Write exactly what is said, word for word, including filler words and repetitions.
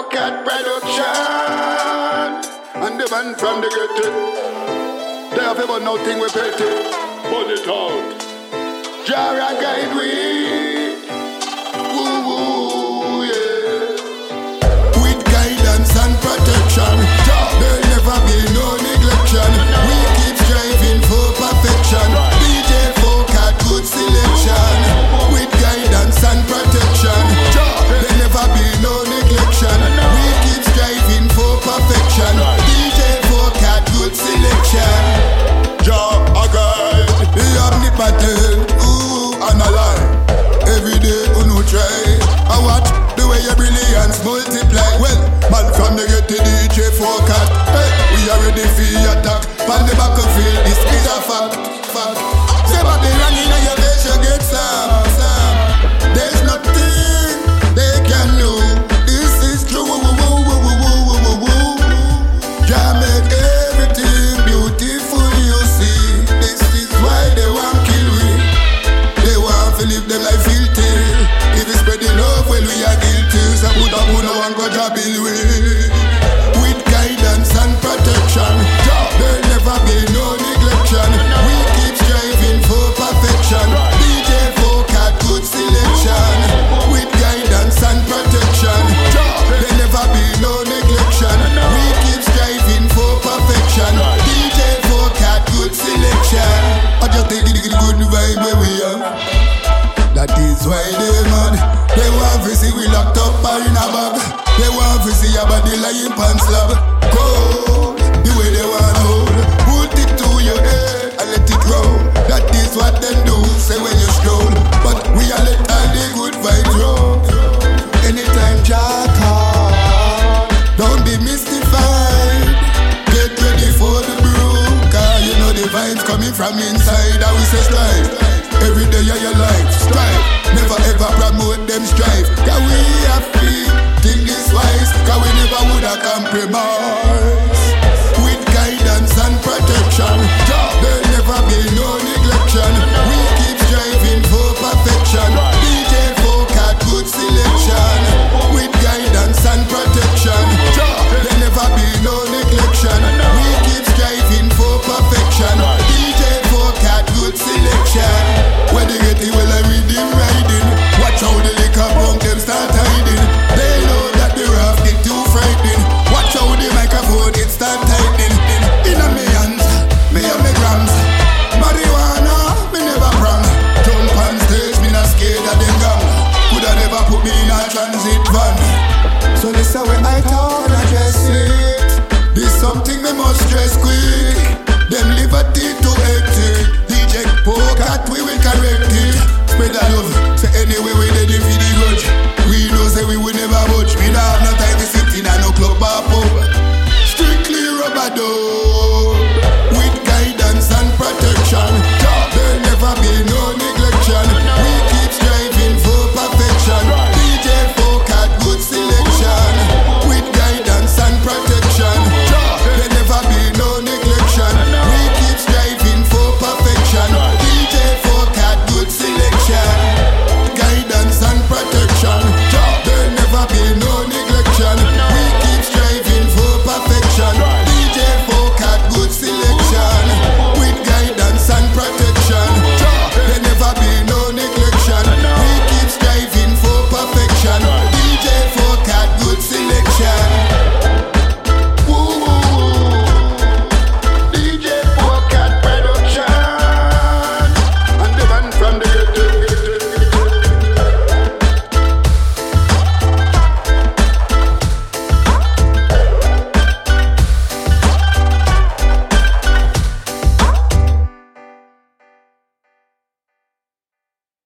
Cat production. And the man from the ghetto. They have ever nothing we pay to. Pull it out. Jara guide we. Woo woo, yeah. With guidance and protection, there'll never be no neglection. We keep striving for perfection. D J Focat, good selection. With guidance and protection, there'll never be no neglection. We keep striving for perfection. D J Focat, good selection. Jah a guide, the omnipotent, ooh, and a lie. Every day you no try. I watch the way your brilliance multiply. Well, man from the get to D J Focat. Hey, we are ready for attack. On the battlefield, this is a fact. Fact. Say Babylon in your face, you get some. some. There's nothing they can do. This is true. Woo, woo, woo, woo, woo, woo, woo. Jah make everything beautiful, you see. This is why they want kill we. They want to live them life filthy. If we spread the love, well we are guilty. So put up who no one got a bill with. With guidance and protection, there'll never be no neglection. We keep striving for perfection. D J Focat, good selection. With guidance and protection, there'll never be no neglection. We keep striving for perfection. D J Focat, good selection. I just take it, the good vibe where we are. That is why they mad. They want to see we locked up or in a bag. They want to see your body lying pan slab.